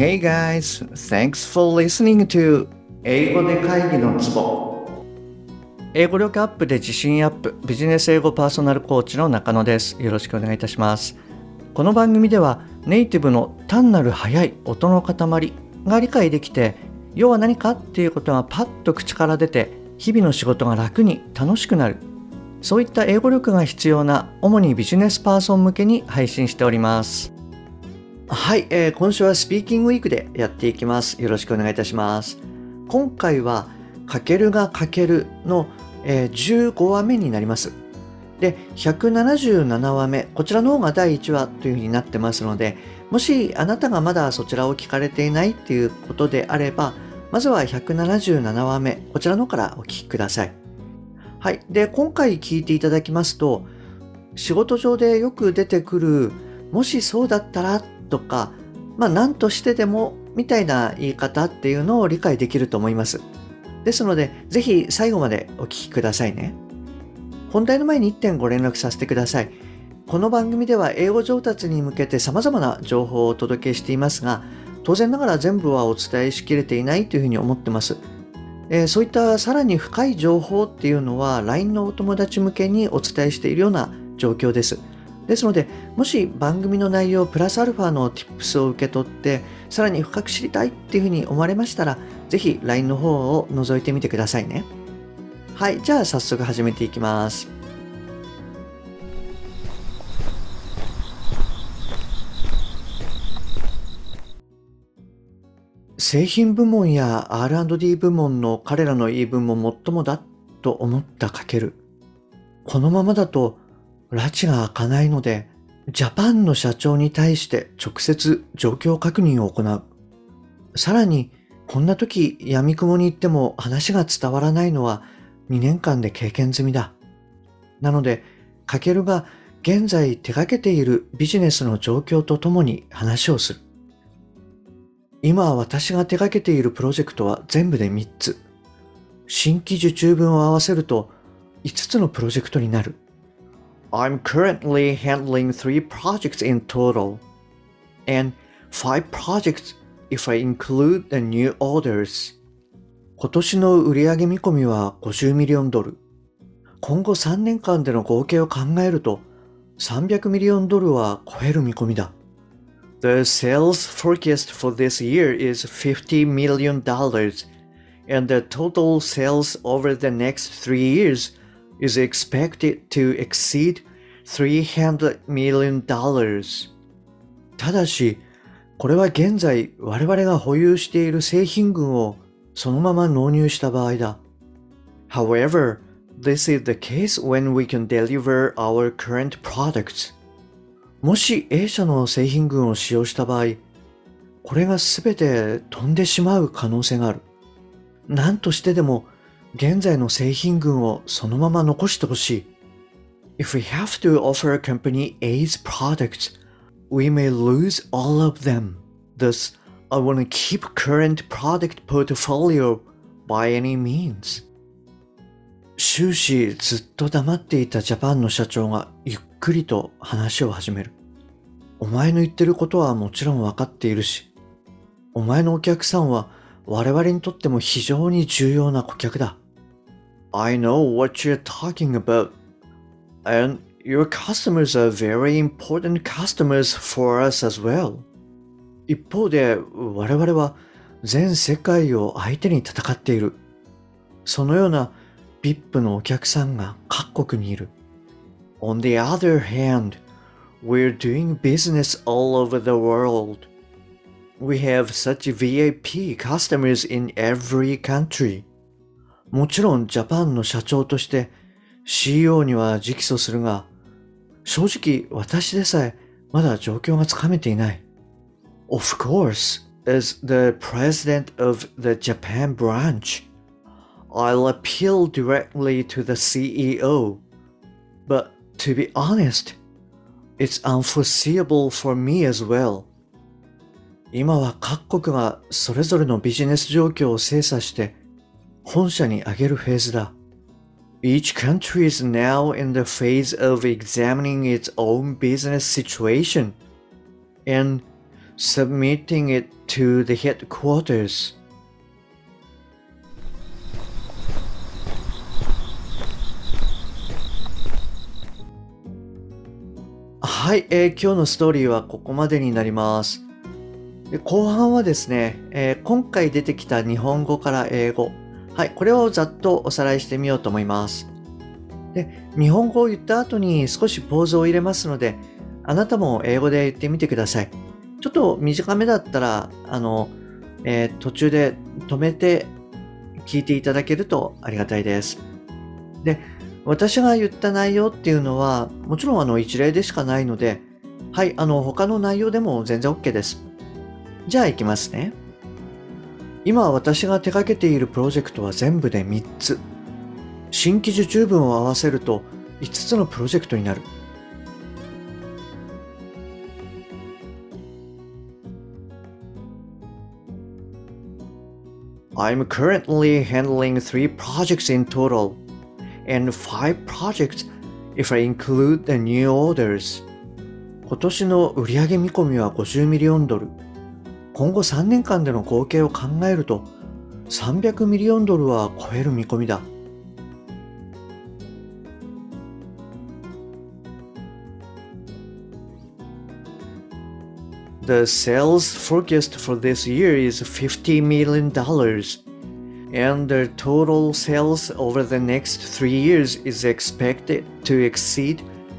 Hey guys, thanks for listening to 英語で会議のツボ。英語力アップで自信アップ、ビジネス英語パーソナルコーチの中野です。よろしくお願いいたします。この番組ではネイティブの単なる速い音の塊が理解できて、要は何かっていうことがパッと口から出て、日々の仕事が楽に楽しくなる。そういった英語力が必要な主にビジネスパーソン向けに配信しております。はい、今週はスピーキングウィークでやっていきます。よろしくお願いいたします。今回はかけるがかけるの、15話目になります。で、177話目、こちらの方が第1話というふうになってますので、もしあなたがまだそちらを聞かれていないっていうことであれば、まずは177話目、こちらの方からお聞きください。はい。で、今回聞いていただきますと、仕事上でよく出てくる、もしそうだったらとか、何としてでもみたいな言い方っていうのを理解できると思います。ですので、ぜひ最後までお聞きくださいね。本題の前に1点ご連絡させてください。この番組では英語上達に向けて様々な情報をお届けしていますが、当然ながら全部はお伝えしきれていないというふうに思ってます。そういったさらに深い情報っていうのは LINE のお友達向けにお伝えしているような状況です。ですので、もし番組の内容プラスアルファの Tips を受け取ってさらに深く知りたいっていうふうに思われましたら、ぜひ LINE の方を覗いてみてくださいね。はい、じゃあ早速始めていきます。製品部門や R&D 部門の彼らの言い分ももっともだと思ったかける。このままだと拉致が開かないので、ジャパンの社長に対して直接状況確認を行う。さらに、こんな時闇雲に行っても話が伝わらないのは2年間で経験済みだ。なので、かけるが現在手掛けているビジネスの状況とともに話をする。今私が手掛けているプロジェクトは全部で3つ。新規受注分を合わせると5つのプロジェクトになる。I'm currently handling 3 projects in total and 5 projects if I include the new orders. 今年の売上見込みは50ミリオンドル。今後3年間での合計を考えると300ミリオンドルは超える見込みだ。The sales forecast for this year is $50 million, and the total sales over the next 3 years is expected to exceed $300 million. ただし、これは現在我々が保有している製品群をそのまま納入した場合だ。However, this is the case when we can deliver our current products. もし A 社の製品群を使用した場合、これが全て飛んでしまう可能性がある。何としてでも現在の製品群をそのまま残してほしい。If we have to offer company A's products, we may lose all of them. Thus, I want to keep current product portfolio by any means. 終始ずっと黙っていたジャパンの社長がゆっくりと話を始める。お前の言ってることはもちろん分かっているし、お前のお客さんは我々にとっても非常に重要な顧客だ。I know what you're talking about, and your customers are very important customers for us as well. 一方で我々は全世界を相手に戦っている。そのようなVIP のお客さんが各国にいる。On the other hand, we're doing business all over the world. We have such VIP customers in every country. もちろんジャパンの社長として CEO には直訴するが、正直私でさえまだ状況がつかめていない。Of course, as the president of the Japan branch, I'll appeal directly to the CEO. But to be honest, it's unforeseeable for me as well. 今は各国がそれぞれのビジネス状況を精査して本社に上げるフェーズだ。Each country is now in the phase of examining its own business situation, and submitting it to the headquarters. はい、今日のストーリーはここまでになります。で後半はですね、今回出てきた日本語から英語、はい、これをざっとおさらいしてみようと思います。で、日本語を言った後に少しポーズを入れますので、あなたも英語で言ってみてください。ちょっと短めだったら、途中で止めて聞いていただけるとありがたいです。で、私が言った内容っていうのは、もちろん一例でしかないので、はい、他の内容でも全然 OK です。じゃあ行きますね。今私が手掛けているプロジェクトは全部で3つ。新規受注分を合わせると5つのプロジェクトになる。I'm currently handling 3 projects in total, and 5 projects if I include the new orders. 今年の売上見込みは50ミリオンドル。今後3年間での合計を考えると300ミリオンドルは超える見込みだ。The sales forecast for this year is $50 million, and the total sales over the next 3 years is expected to exceed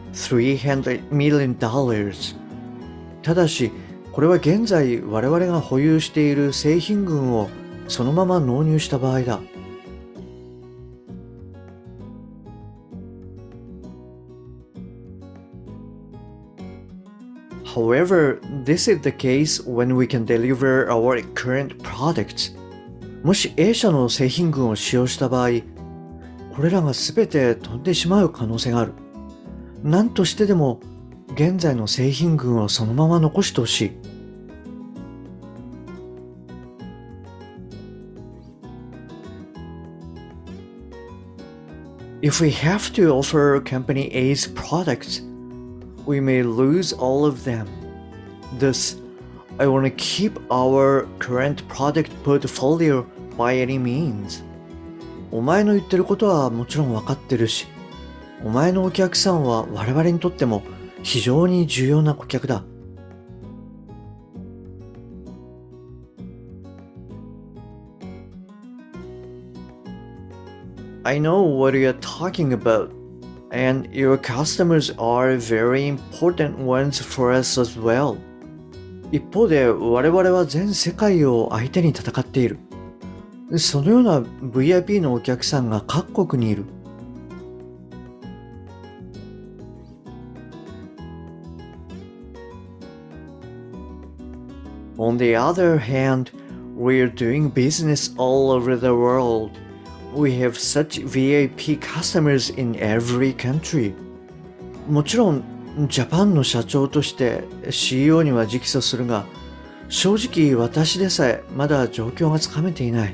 $300 million. ただし、これは現在我々が保有している製品群をそのまま納入した場合だ。However, this is the case when we can deliver our current products. もし A 社の製品群を使用した場合、これらが全て飛んでしまう可能性がある。何としてでも現在の製品群をそのまま残してほしい。If we have to offer Company A's products, we may lose all of them. Thus, I want to keep our current product portfolio by any means. お前の言ってることはもちろん分かってるし、お前のお客さんは我々にとっても非常に重要な顧客だ。I know what you're talking about, and your customers are very important ones for us as well. 一方で我々は全世界を相手に戦っている。そのような VIP のお客さんが各国にいる。On the other hand, we're doing business all over the world. We have such VIP customers in every country. もちろん、ジャパンの社長として CEO には直訴するが、正直私でさえまだ状況がつかめていない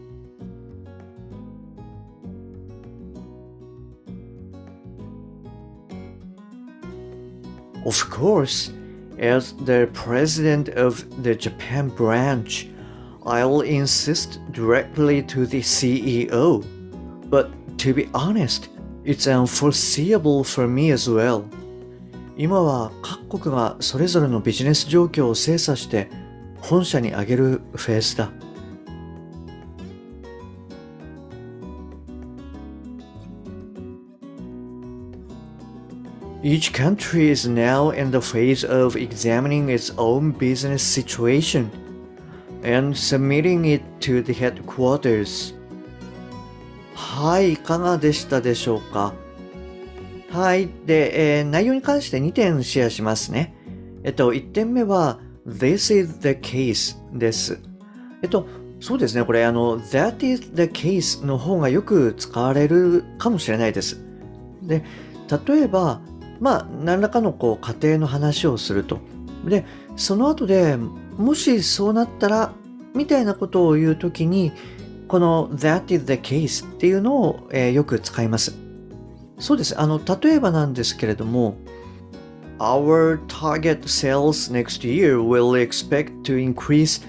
。Of course, as the president of the Japan branch, I'll insist directly to the CEO. But to be honest, it's unforeseeable for me as well. 今は各国がそれぞれのビジネス状況を精査して本社に上げるフェーズだ。Each country is now in the phase of examining its own business situation and submitting it to the headquarters. はい、いかがでしたでしょうか。はい。で、内容に関して2点シェアしますね。1点目は This is the case です。そうですね。これThat is the case の方がよく使われるかもしれないです。で、例えば何らかの家庭の話をすると。で、その後でもしそうなったらみたいなことを言うときに、この That is the case っていうのを、よく使います。そうです。例えばなんですけれども、 Our target sales next year will expect to increase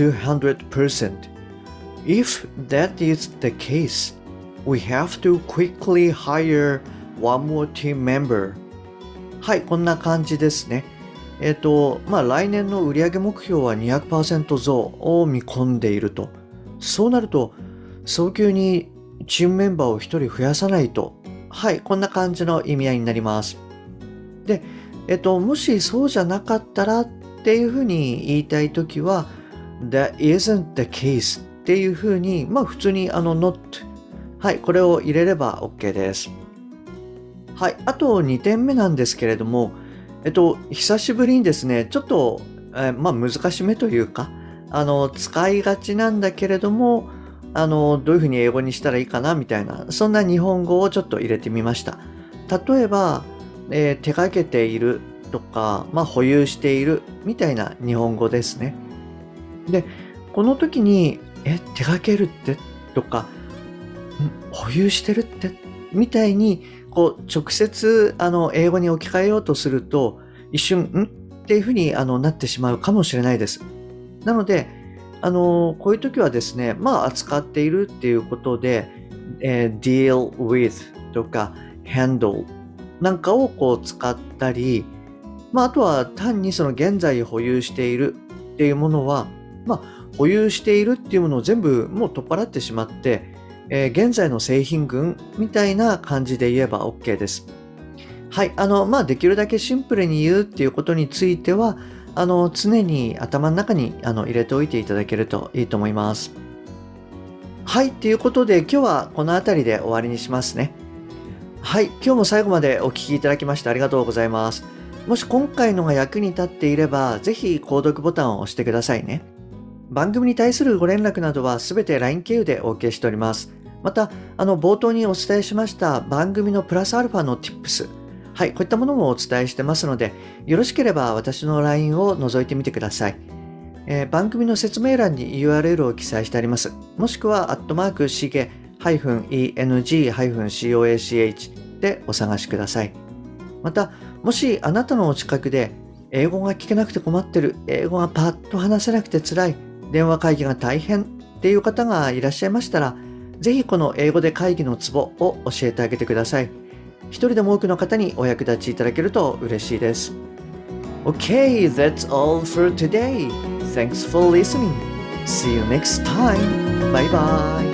200%. If that is the case, we have to quickly hire one more team member. はい、こんな感じですね。来年の売上目標は 200% 増を見込んでいると。そうなると、早急にチームメンバーを1人増やさないと。はい、こんな感じの意味合いになります。で、もしそうじゃなかったらっていうふうに言いたいときは、That isn't the case っていうふうに、普通にnot。はい、これを入れれば OK です。はい、あと2点目なんですけれども、久しぶりにですね、ちょっと、難しめというか、使いがちなんだけれども、どういうふうに英語にしたらいいかなみたいな、そんな日本語をちょっと入れてみました。例えば、手掛けているとか、保有しているみたいな日本語ですね。で、この時に、手掛けるってとか、保有してるってみたいに、直接英語に置き換えようとすると一瞬っていうふうになってしまうかもしれないです。なのでこういう時はですね、扱っているっていうことで、deal with とか handle なんかを使ったり、あとは単にその現在保有しているっていうものは、保有しているっていうものを全部もう取っ払ってしまって、現在の製品群みたいな感じで言えば OK です。はい。できるだけシンプルに言うっていうことについては、常に頭の中に入れておいていただけるといいと思います。はい。ということで、今日はこの辺りで終わりにしますね。はい。今日も最後までお聞きいただきましてありがとうございます。もし今回のが役に立っていれば、ぜひ購読ボタンを押してくださいね。番組に対するご連絡などはすべて LINE 経由でお受けしております。また、冒頭にお伝えしました番組のプラスアルファの Tips。はい、こういったものもお伝えしてますので、よろしければ私の LINE を覗いてみてください。番組の説明欄に URL を記載してあります。もしくは、@shige-eng-coach でお探しください。また、もしあなたのお近くで、英語が聞けなくて困ってる、英語がパッと話せなくて辛い、電話会議が大変っていう方がいらっしゃいましたら、ぜひこの英語で会議のツボを教えてあげてください。一人でも多くの方にお役立ちいただけると嬉しいです。Okay, that's all for today. Thanks for listening. See you next time. Bye bye.